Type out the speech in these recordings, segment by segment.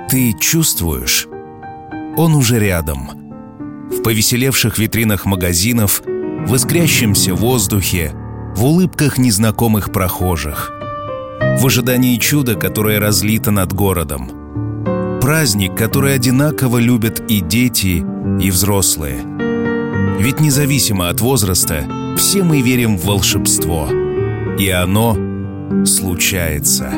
Ты чувствуешь? Он уже рядом. В повеселевших витринах магазинов, в искрящемся воздухе, в улыбках незнакомых прохожих, в ожидании чуда, которое разлито над городом. Праздник, который одинаково любят и дети, и взрослые. Ведь независимо от возраста, все мы верим в волшебство. И оно случается.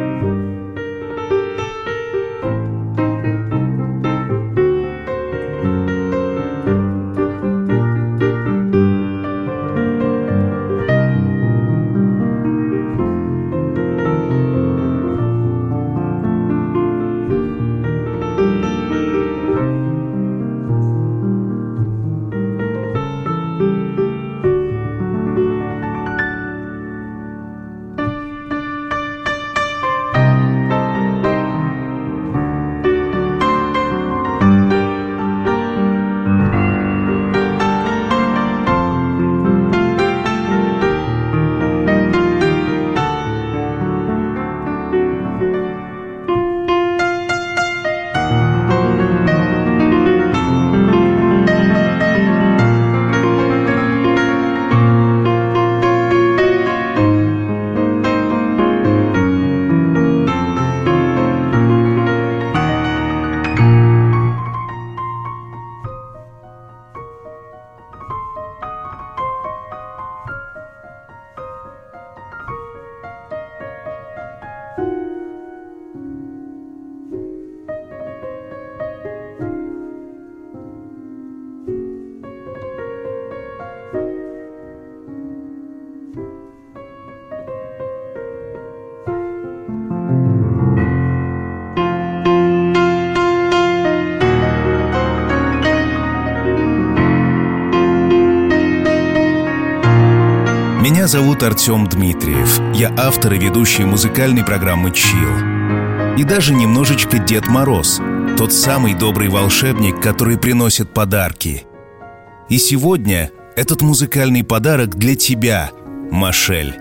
Меня зовут Артем Дмитриев. Я автор и ведущий музыкальной программы «Чилл». И даже немножечко Дед Мороз, тот самый добрый волшебник, который приносит подарки. И сегодня этот музыкальный подарок для тебя, Машель.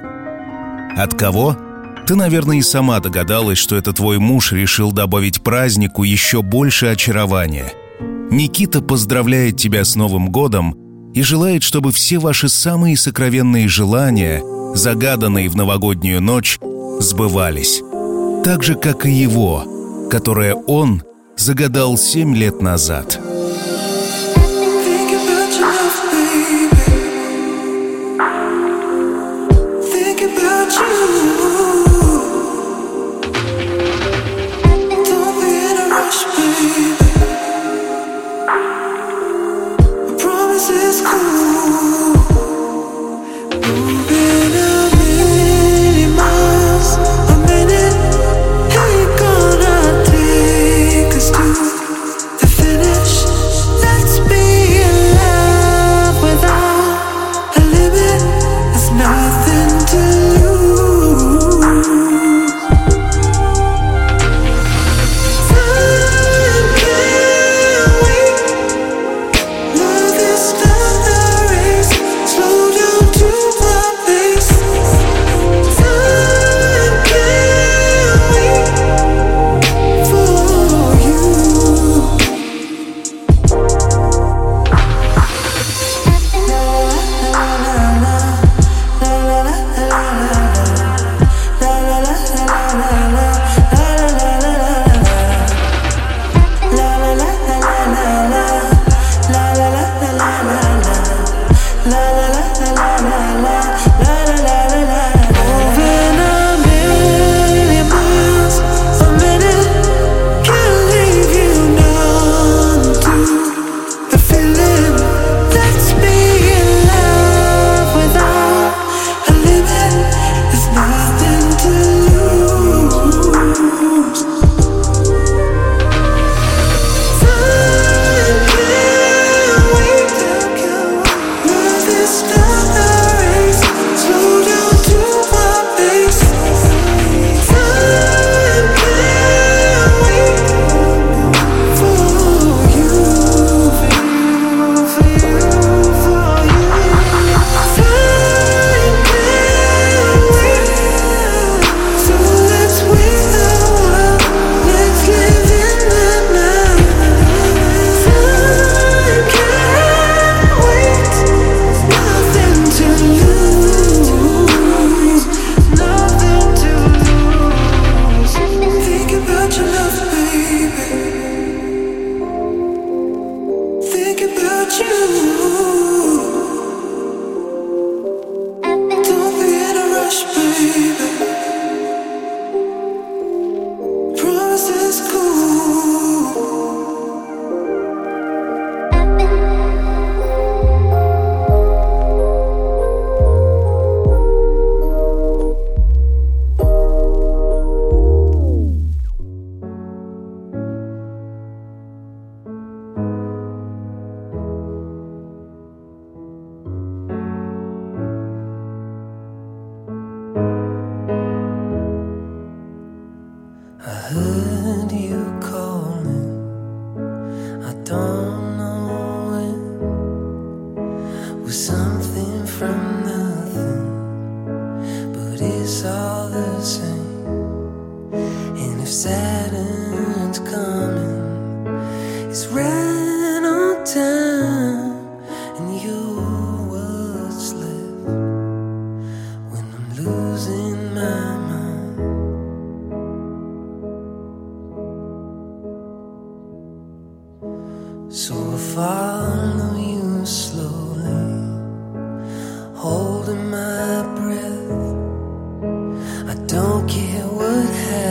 От кого? Ты, наверное, и сама догадалась, что это твой муж решил добавить празднику еще больше очарования. Никита поздравляет тебя с Новым годом и желает, чтобы все ваши самые сокровенные желания, загаданные в новогоднюю ночь, сбывались. Так же, как и его, которое он загадал 7 лет назад. Nothing to lose. it's all the same. And if Saturn's coming, it's right on time. And you're what's left when I'm losing my mind. So I follow you slowly, holding my breath. I don't care what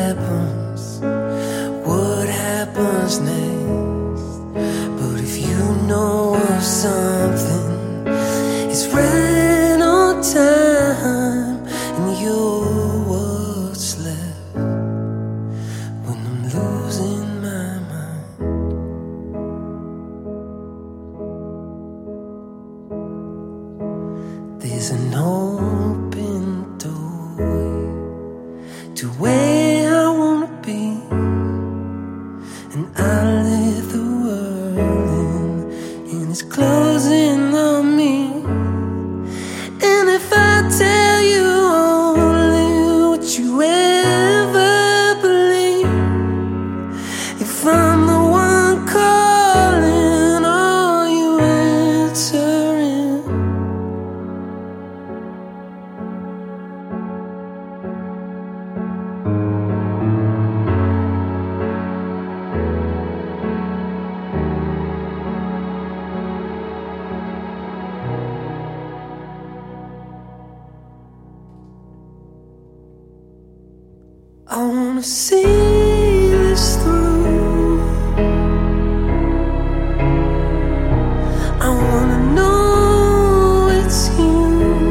happens next. But if you know of something, it's right on time. And you're what's left when I'm losing my mind. There's an open doorway to where I wanna be, and I let the world in, and it's closing on me. And if I tell you only what you ever believe, if I'm the one calling, are you answering? I wanna see this through. I wanna know it's you.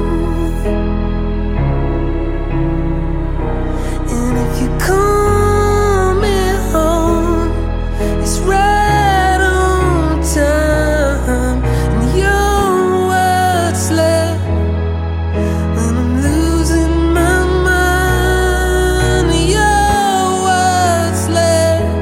And if you call me home, it's right on time. And you're what's left when I'm losing my mind. You're what's left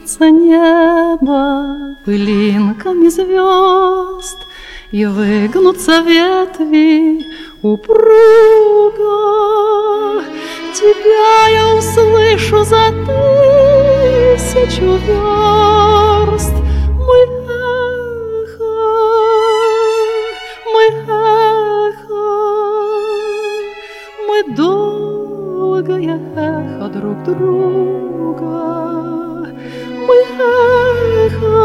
Пятнится небо пылинками звезд, и выгнутся ветви упруго. Тебя я услышу за 1000 верст. Мой эхо, мы долгое эхо друг друга. Мы эхо,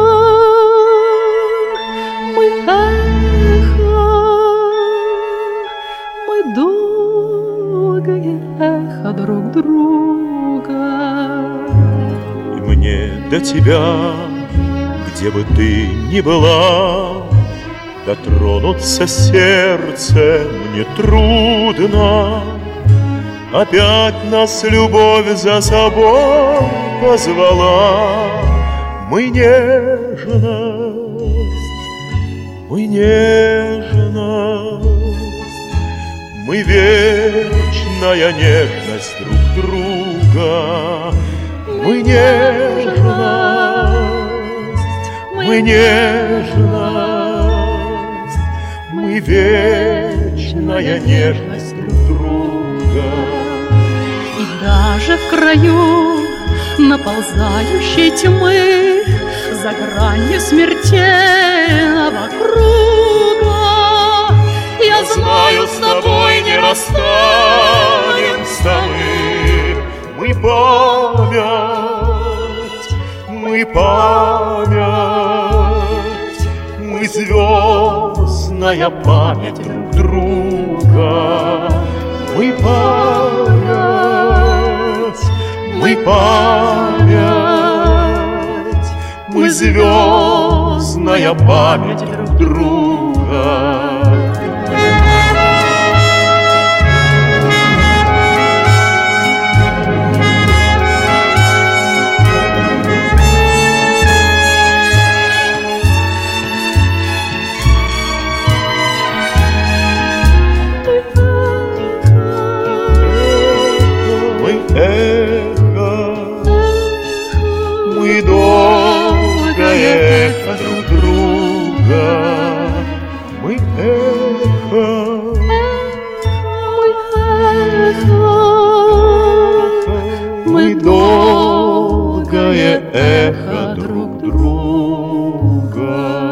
мы долгое эхо друг друга. И мне до тебя, где бы ты ни была, дотронуться сердцем не трудно. Опять нас любовь за собой позвала. Мы нежность, мы вечная нежность друг друга. Мы нежность, мы вечная нежность друг друга. И даже в краю наползающей тьмы, за гранью смертельного круга, я знаю, с тобой не расстанемся мы. Мы память, мы звездная память друг друга. Мы память, мы звездная память друг друга. Мы долгое эхо друг друга. Мы эхо, мы долгое эхо друг друга.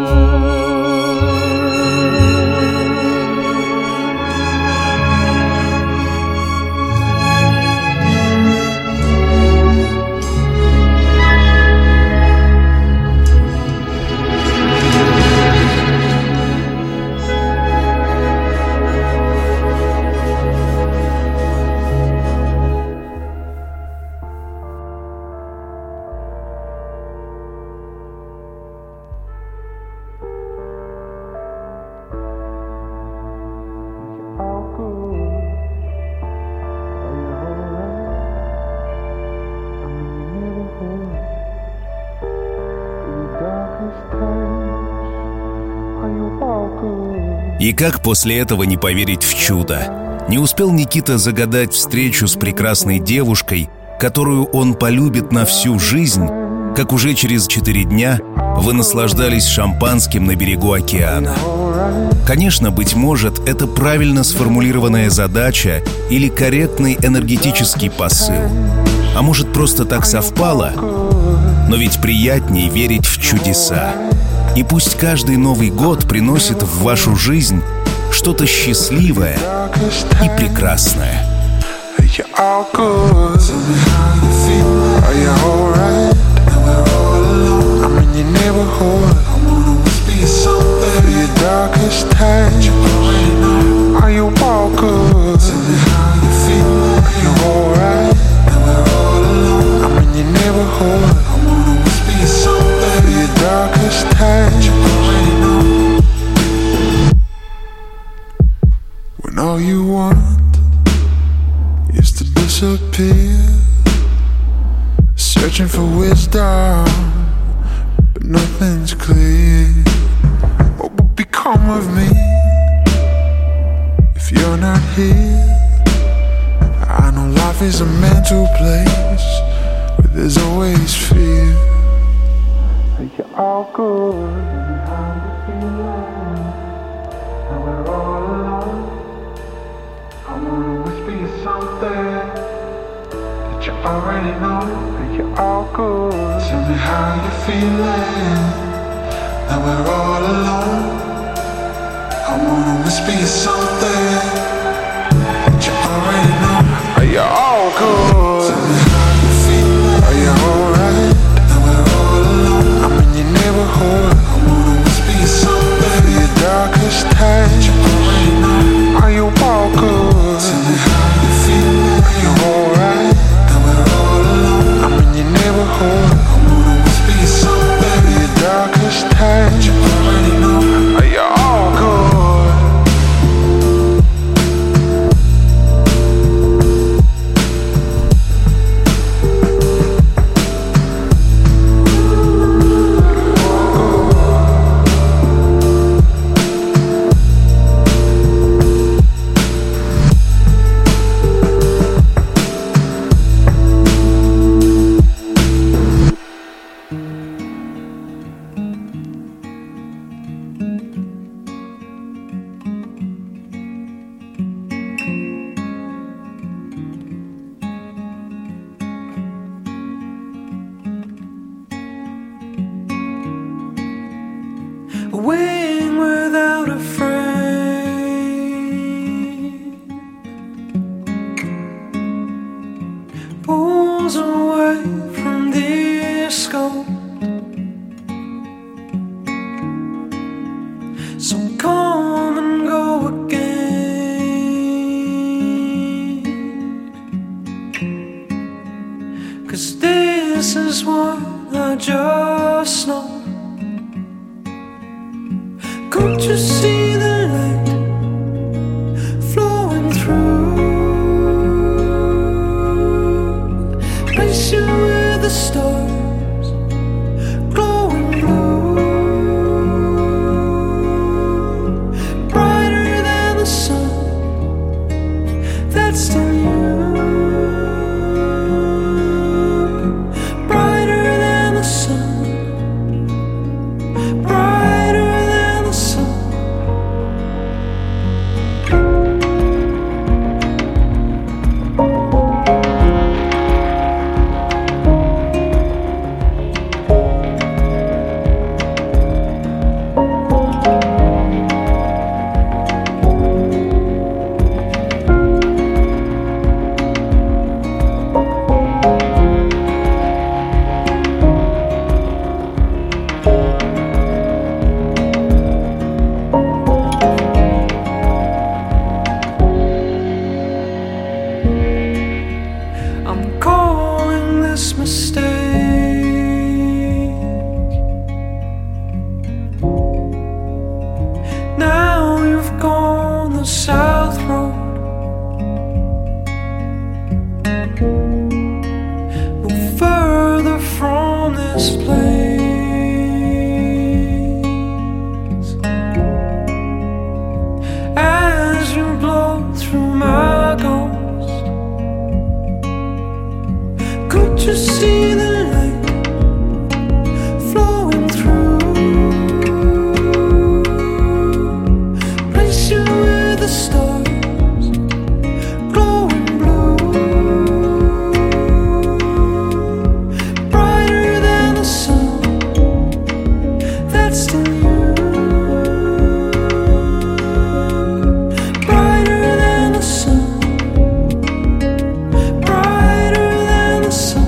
И как после этого не поверить в чудо? Не успел Никита загадать встречу с прекрасной девушкой, которую он полюбит на всю жизнь, как уже через 4 дня вы наслаждались шампанским на берегу океана. Конечно, быть может, это правильно сформулированная задача или корректный энергетический посыл. А может, просто так совпало? Но ведь приятнее верить в чудеса. И пусть каждый Новый год приносит в вашу жизнь что-то счастливое и прекрасное. When all you want is to disappear, searching for wisdom, but nothing's clear. What will become of me if you're not here? I know life is a mental place where there's always fear. but you're all good. How you feeling? Now we're all alone. I wanna whisper you something that you already know, but you're all good. Tell me how you feeling. Now we're all alone. I wanna whisper you something that you already know. Are you all good? Tell me how you feeling. Are you alright? Now we're all alone. I'm in your neighborhood. I wanna whisper you something for your darkest time that you already know. Are you all good? Tell me how you feeling. Are you alright? Now we're all alone. I'm in your neighborhood. I wanna whisper you something for your darkest time that you already know. Are you all good? A wing without a frame, pulls away from this scope. So come and go again, 'cause this is what I just know. Can't you see the light flowing through? Place you with the stars glowing blue, brighter than the sun. That's still you, brighter than the sun. I'm calling this mistake. Now you've gone the south road. Move further from this place as you blow through my ghost. Could you see the light flowing through? Place you with the stars glowing blue, brighter than the sun. That's still you, brighter than the sun. Brighter than the sun.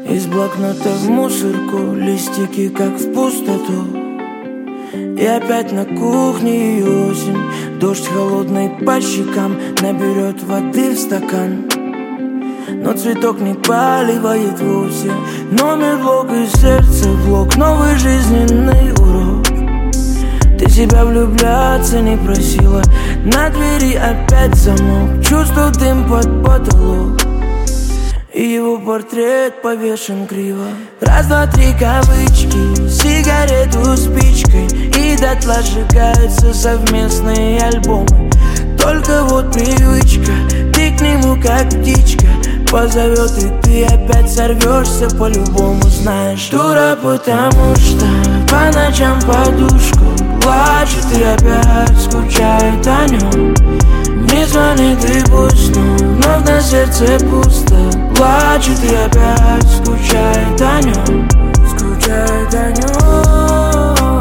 Из блокнота в мусорку, листики как в пустоту. И опять на кухне и осень. Дождь холодный по щекам наберет воды в стакан. Но цветок не поливает вовсе. Номер, блок и сердце блок. Новый жизненный урок. Ты себя влюбляться не просила. На двери опять замок. Чувствую дым под потолок. И его портрет повешен криво. Раз, два, три кавычки, сигарету спичкой. И дотла сжигаются совместные альбомы. Только вот привычка, ты к нему как птичка. Позовет, и ты опять сорвешься по-любому. Знаешь, дура, потому что по ночам подушку плачет и опять скучает о нем. Не звонит и пусть, но вновь на сердце пусто. Плачет и опять скучает о нем. Скучает о нем.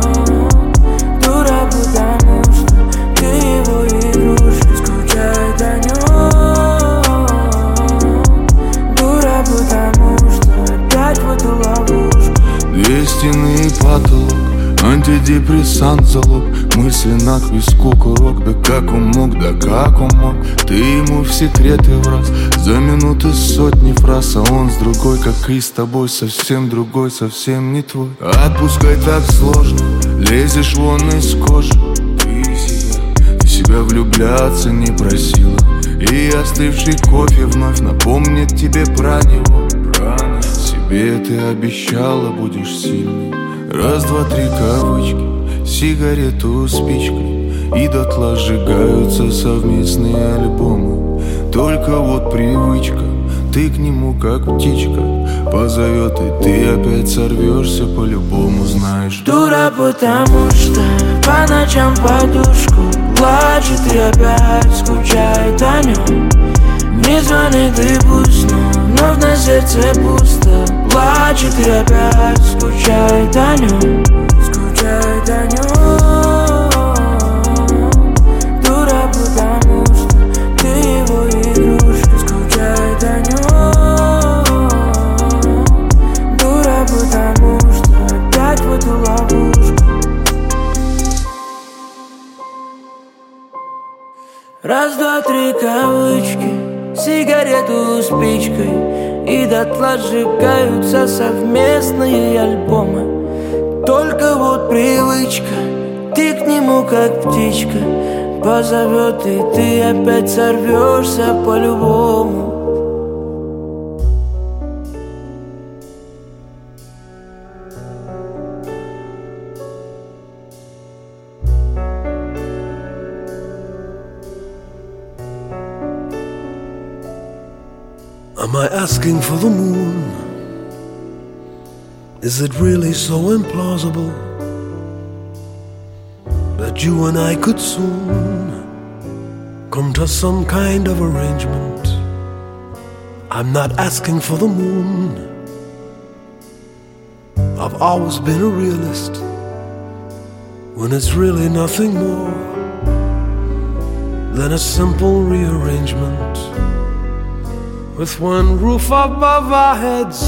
Дура, потому что ты его игрушка. Скучает о нем. Дура, потому что опять в эту ловушку. Две стены и потолок, антидепрессант залог. Мысли на к виску курок. Да как он мог, да как он мог. Ты ему в секреты враз. За минуты сотни фраз. А он с другой, как и с тобой. Совсем другой, совсем не твой. Отпускай так сложно. Лезешь вон из кожи. Ты себя влюбляться не просила. И остывший кофе вновь напомнит тебе про него. Себе ты обещала, будешь сильной. Раз, два, три кавычки, сигарету спичкой. И дотла сжигаются совместные альбомы. Только вот привычка, ты к нему как птичка. Позовет, и ты опять сорвешься по-любому. Знаешь, дура, потому что по ночам подушку плачет и опять скучает о нем. Не звонит и пусть, но вновь на сердце пусто. Плачет и опять скучает о нем. Скучает о нем. Дура, потому что ты его игрушка. Скучает о нем. Дура, потому что опять в эту ловушку. Раз, два, три кавычки, сигарету спичкой. И дотла сжигаются совместные альбомы. Только вот привычка, ты к нему как птичка. Позовет, и ты опять сорвешься по-любому. Am I asking for the moon? Is it really so implausible that you and I could soon come to some kind of arrangement? I'm not asking for the moon. I've always been a realist when it's really nothing more than a simple rearrangement. With one roof above our heads,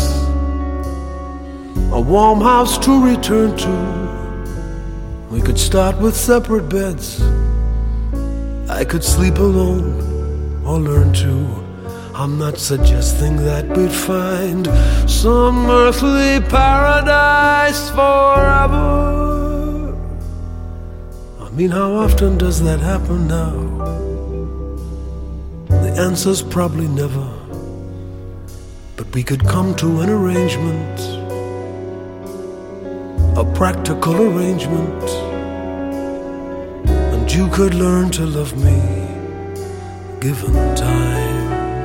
a warm house to return to. We could start with separate beds. I could sleep alone or learn to. I'm not suggesting that we'd find some earthly paradise forever. I mean, how often does that happen now? The answer's probably never. But we could come to an arrangement, a practical arrangement, and you could learn to love me, given time.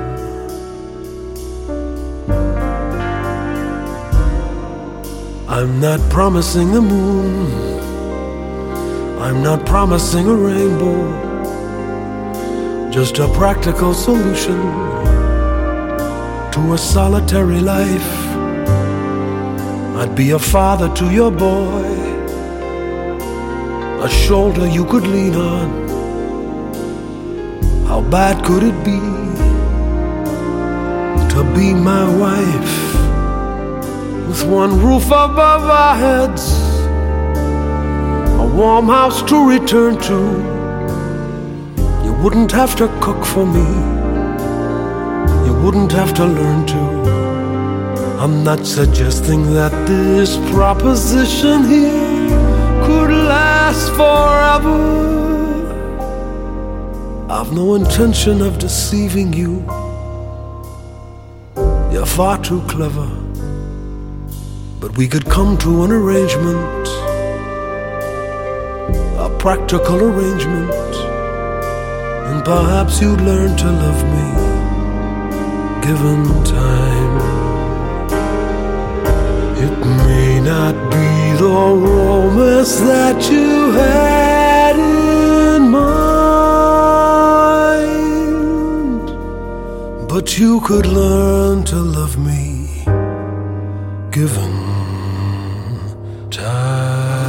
I'm not promising the moon, I'm not promising a rainbow, just a practical solution to a solitary life. I'd be a father to your boy, a shoulder you could lean on. How bad could it be to be my wife? with one roof above our heads, a warm house to return to. You wouldn't have to cook for me, you wouldn't have to learn to. I'm not suggesting that this proposition here could last forever. I've no intention of deceiving you. You're far too clever. But we could come to an arrangement, a practical arrangement, and perhaps you'd learn to love me, given time. It may not be the romance that you had in mind, but you could learn to love me, given time.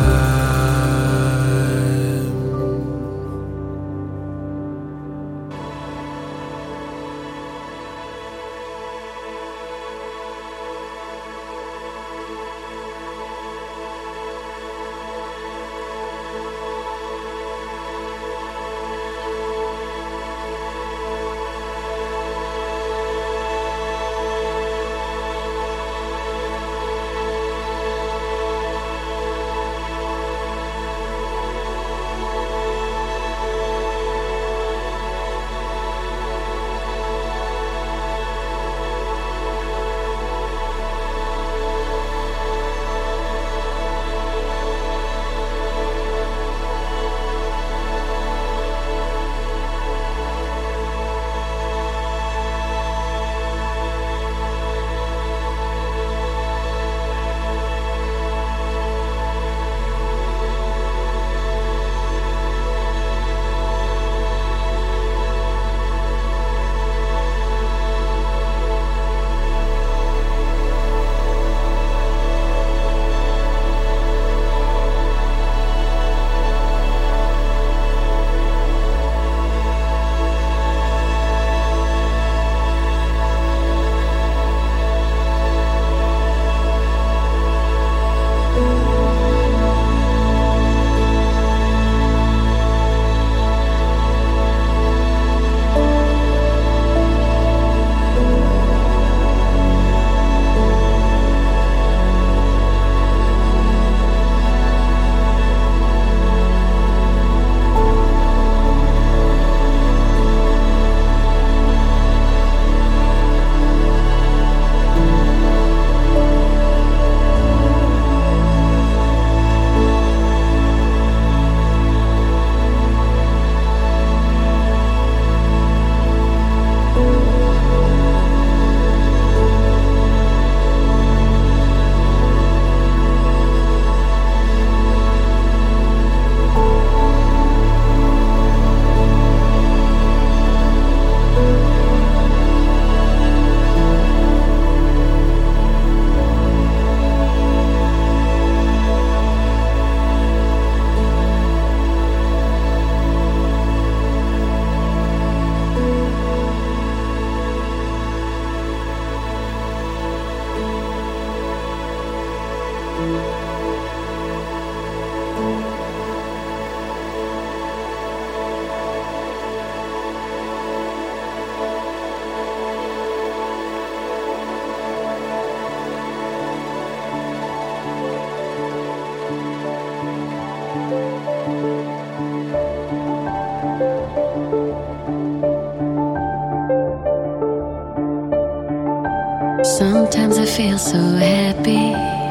Sometimes I feel so happy,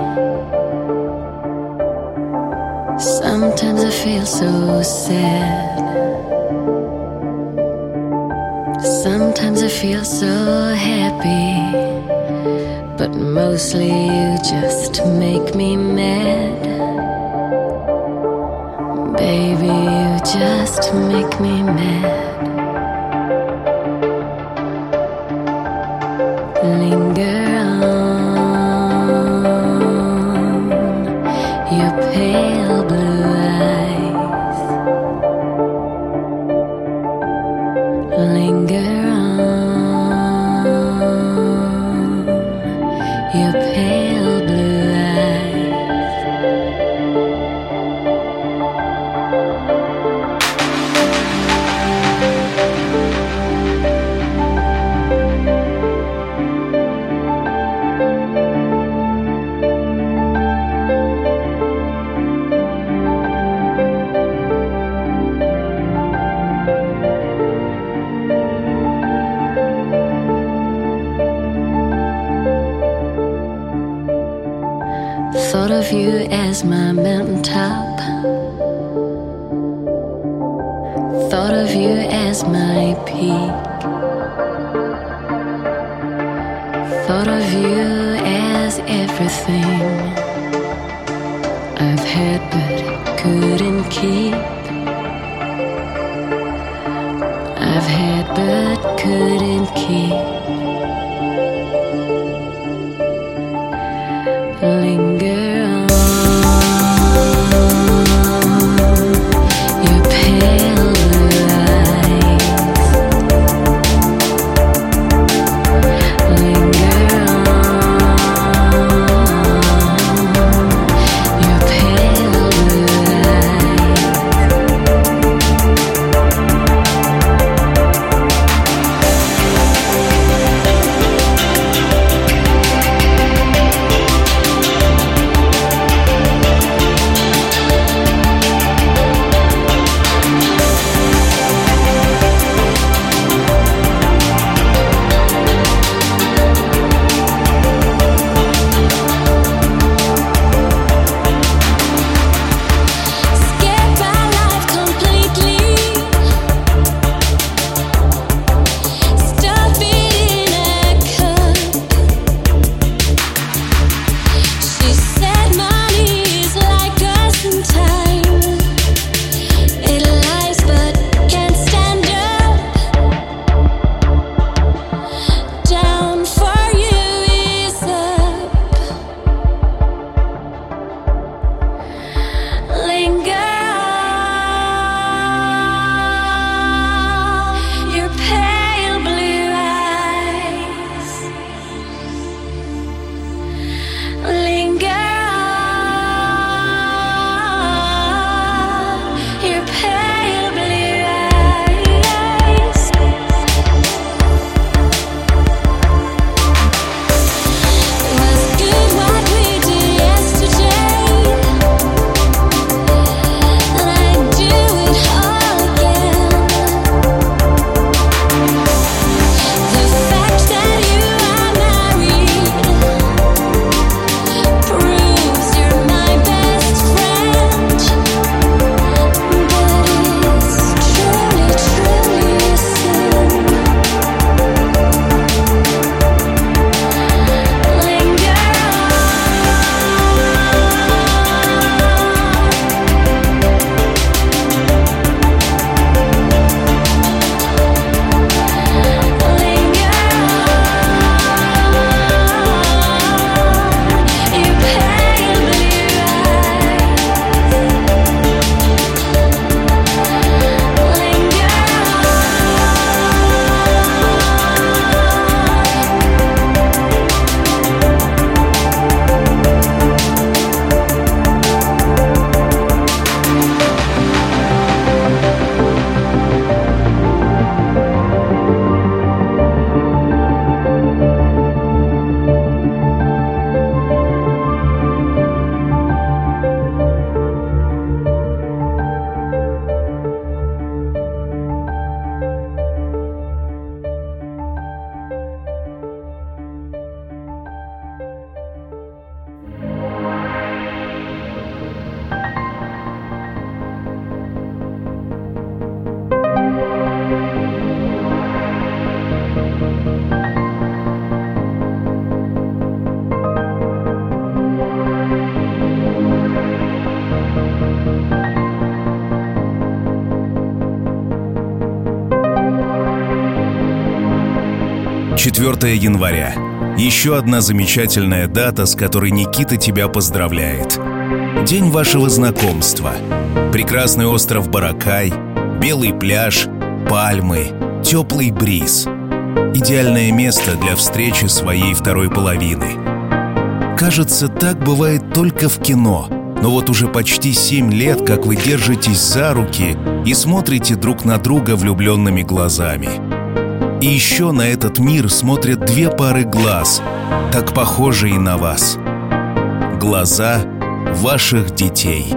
sometimes I feel so sad, sometimes I feel so happy, but mostly you just make me mad. Baby, you just make me mad. Linger on your pale blue eyes. Linger on your pale blue Thought of you as my mountaintop. Thought of you as my peak. Thought of you as everything I've had but couldn't keep. I've had but couldn't keep. Linger on your pale blue eyes. Linger on your pale blue eyes. «4 января. Еще одна замечательная дата, с которой Никита тебя поздравляет. День вашего знакомства. Прекрасный остров Баракай, белый пляж, пальмы, теплый бриз. Идеальное место для встречи своей второй половины. Кажется, так бывает только в кино. Но вот уже почти 7 лет, как вы держитесь за руки и смотрите друг на друга влюбленными глазами. И еще на этот мир смотрят 2 пары глаз, так похожие на вас. Глаза ваших детей.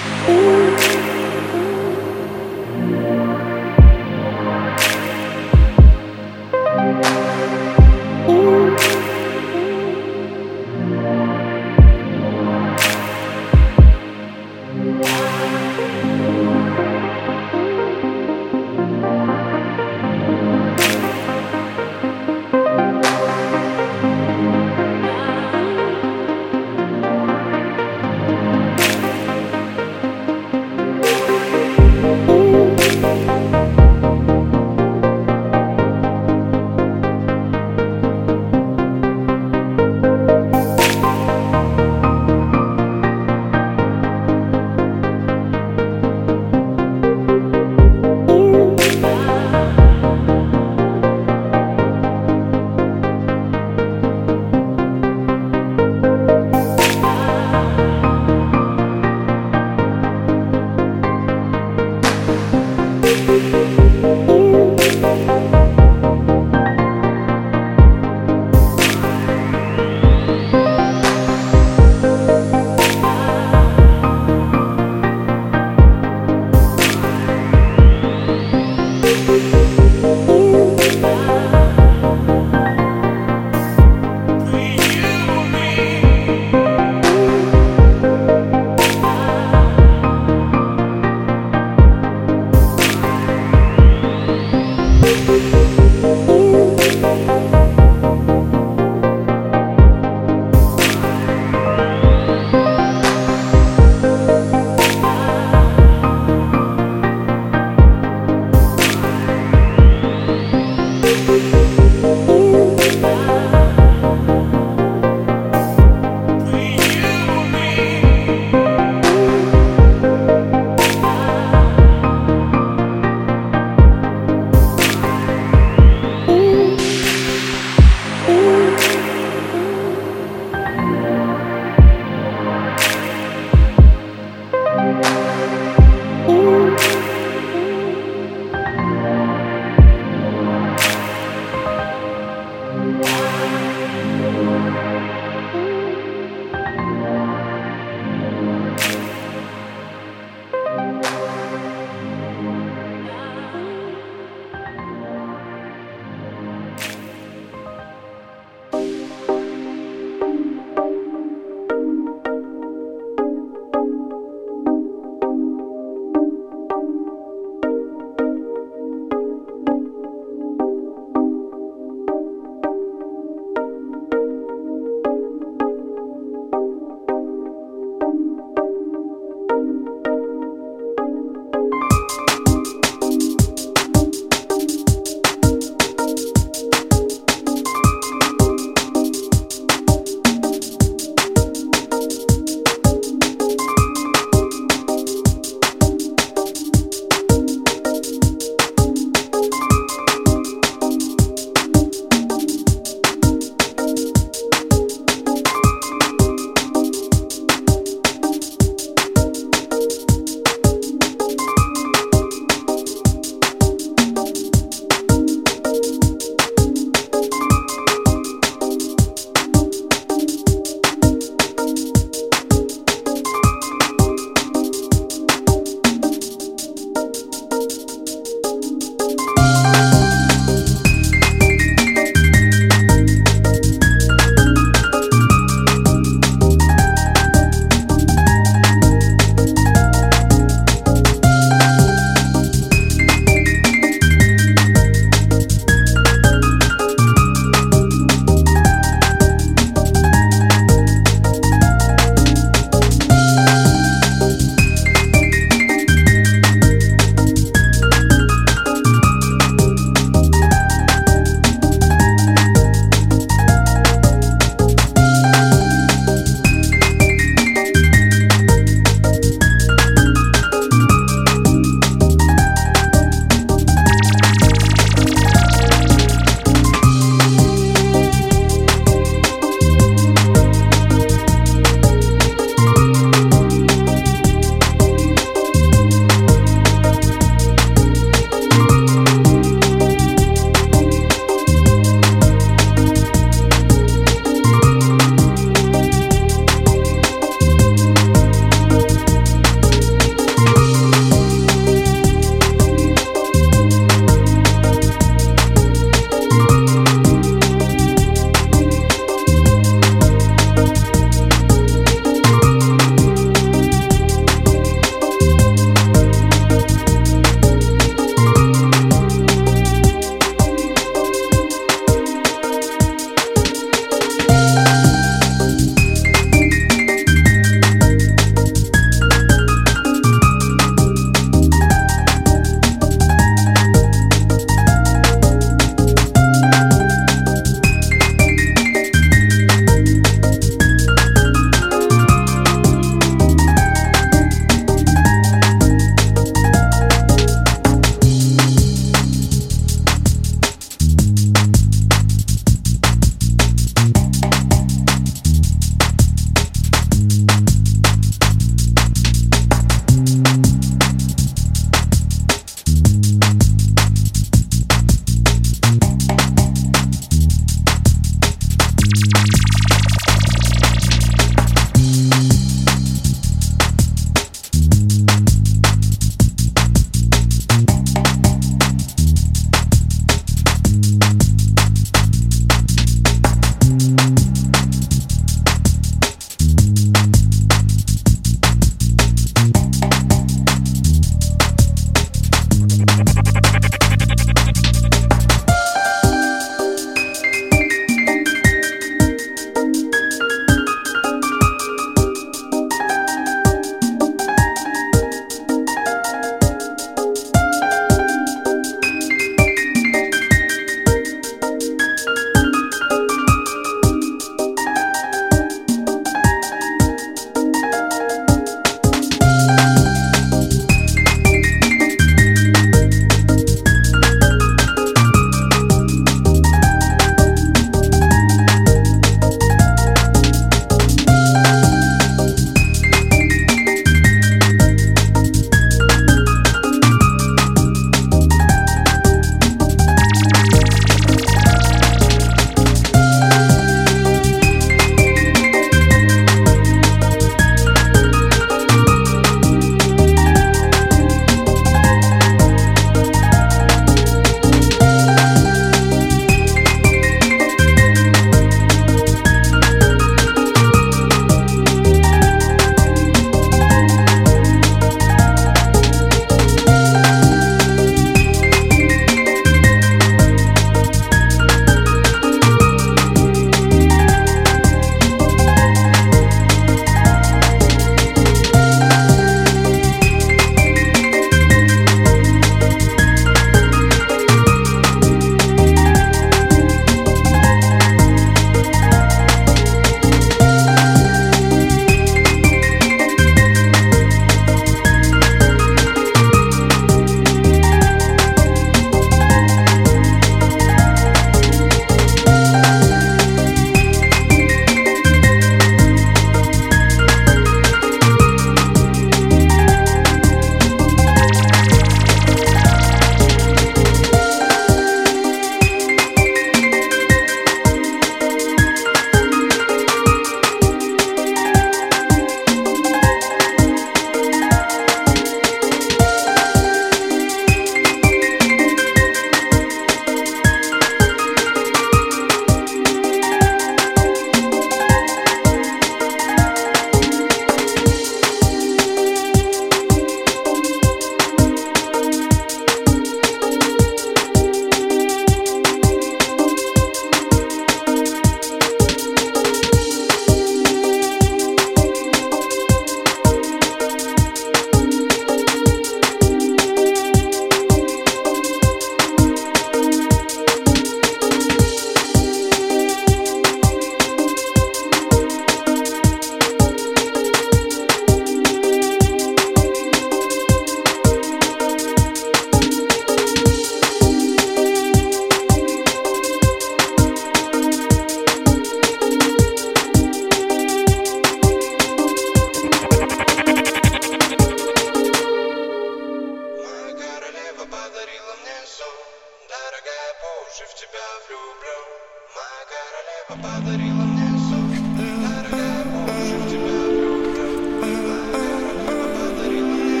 Дорогая, по уши в тебя влюблю. Моя королева подарила мне сон. Дорогая, по уши в тебя влюблю. Моя королева подарила мне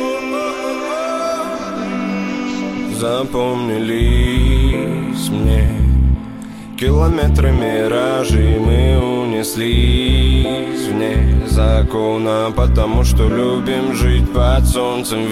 сон. Запомнились мне километры миражей, мы унеслись вне закона, потому что любим жить под солнцем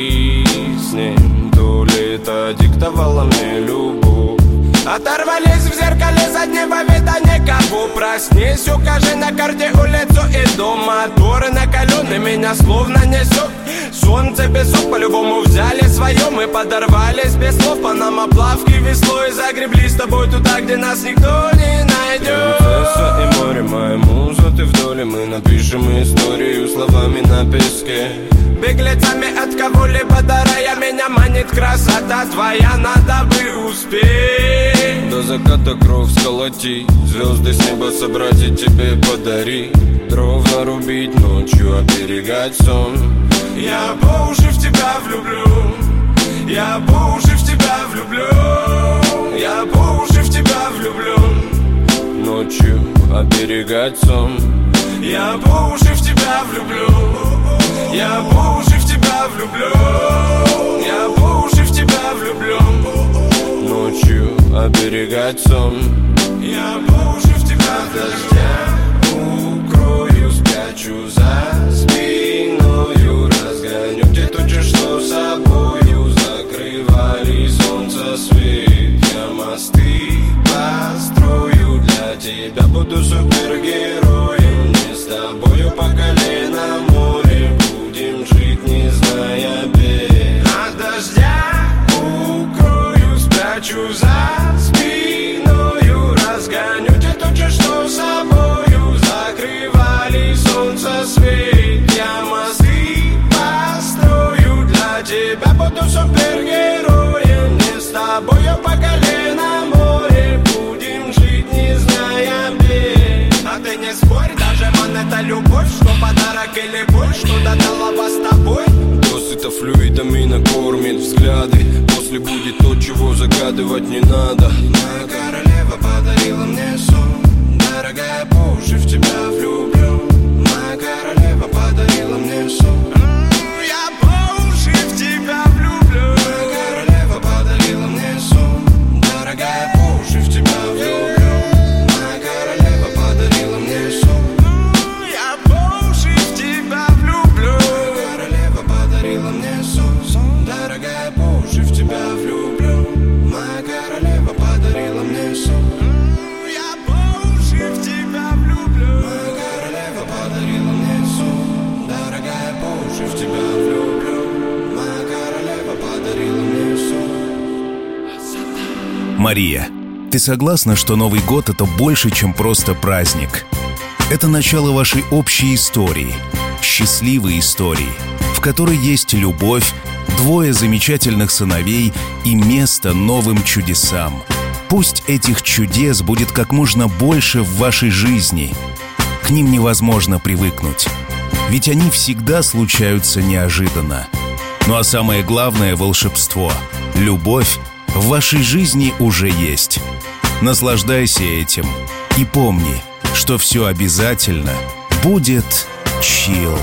виснем. То лето диктовало мне любовь. Оторвались в зеркале заднего вида никого. Проснись, укажи на карте улицу и дом. Моторы накалены, меня словно несет. Солнце песок по-любому взяли свое. Мы подорвались без слов, панамоплавки веслой. Загребли с тобой туда, где нас никто не найдет. Принцесса и море, моя муза, ты в доле. Мы напишем историю словами на песке. Беглецами от кого-либо дарая, меня манит красота твоя, надо бы успеть. До заката кровь сколотить, звезды с неба собрать и тебе подарить. Дров нарубить ночью, оберегать сон. Я по уши в тебя влюблю. Я по уши в тебя влюблю. Я по уши в тебя влюблю. Ночью оберегать сон. Я по уши в тебя влюблю. Я по уши в тебя влюблю. Я по уши в тебя влюблю. Ночью оберегать сон. Я по уши в тебя дождя укрою, спрячу за спиною. Разгоню те тучи, что собою закрывали солнце свет. Я мосты построю для тебя, буду супергероем. Не с тобою по колено море, будем жить, не зная бед. От дождя укрою, спрячу за спиною. Разгоню те тучи, что собою закрывали солнце свет. Я мосты построю для тебя, буду супергероем. Не с тобою по колено море, будем жить, не зная бед. А ты не спорь, даже монета любовь, что подарок или боль, что-то дала вас с тобой. Досыта флюидами накормит взгляды. После будет то, чего загадывать не надо. Моя королева подарила мне сон. Дорогая, по уши в тебя влюблю. Моя королева подарила мне сон. Я по уши в тебя влюблю. Моя королева подарила мне сон. Дорогая, по уши в тебя влюблю. Моя королева подарила мне сон. Я по уши в тебя влюблю. Моя королева подарила мне сон. Дорогая, по уши в тебя влюблю. Моя королева подарила мне сон. Я по уши в тебя влюблю. Моя королева подарила мне сон. Дорогая, по уши в тебя влюблю. Моя королева подарила мне сон. Мария, ты согласна, что Новый год — это больше, чем просто праздник? Это начало вашей общей истории, счастливой истории, в которой есть любовь, двое замечательных сыновей и место новым чудесам. Пусть этих чудес будет как можно больше в вашей жизни. К ним невозможно привыкнуть, ведь они всегда случаются неожиданно. Ну а самое главное — волшебство, любовь в вашей жизни уже есть. Наслаждайся этим и помни, что все обязательно будет чилл.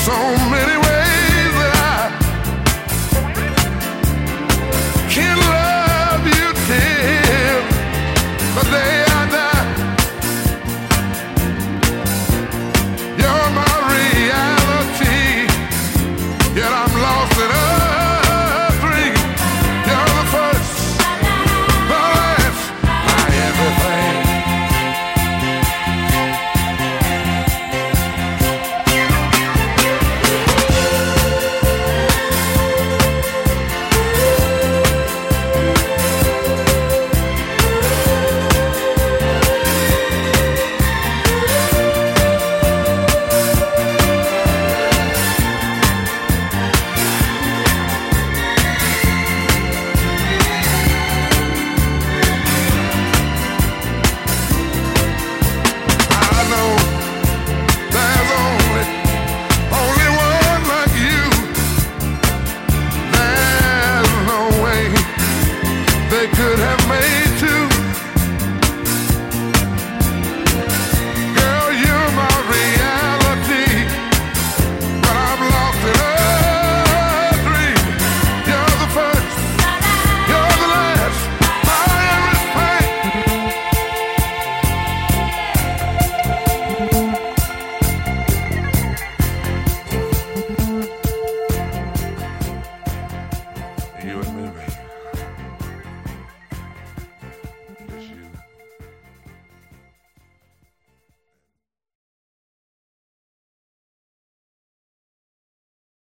so many ways that I can love you till the day I die. You're my reality, yet I'm lost in a dream. You're the first, the last, my everything. Could have made two. Girl, you're my reality, but I'm lost in a dream. You're the first, you're the last, my everything. You and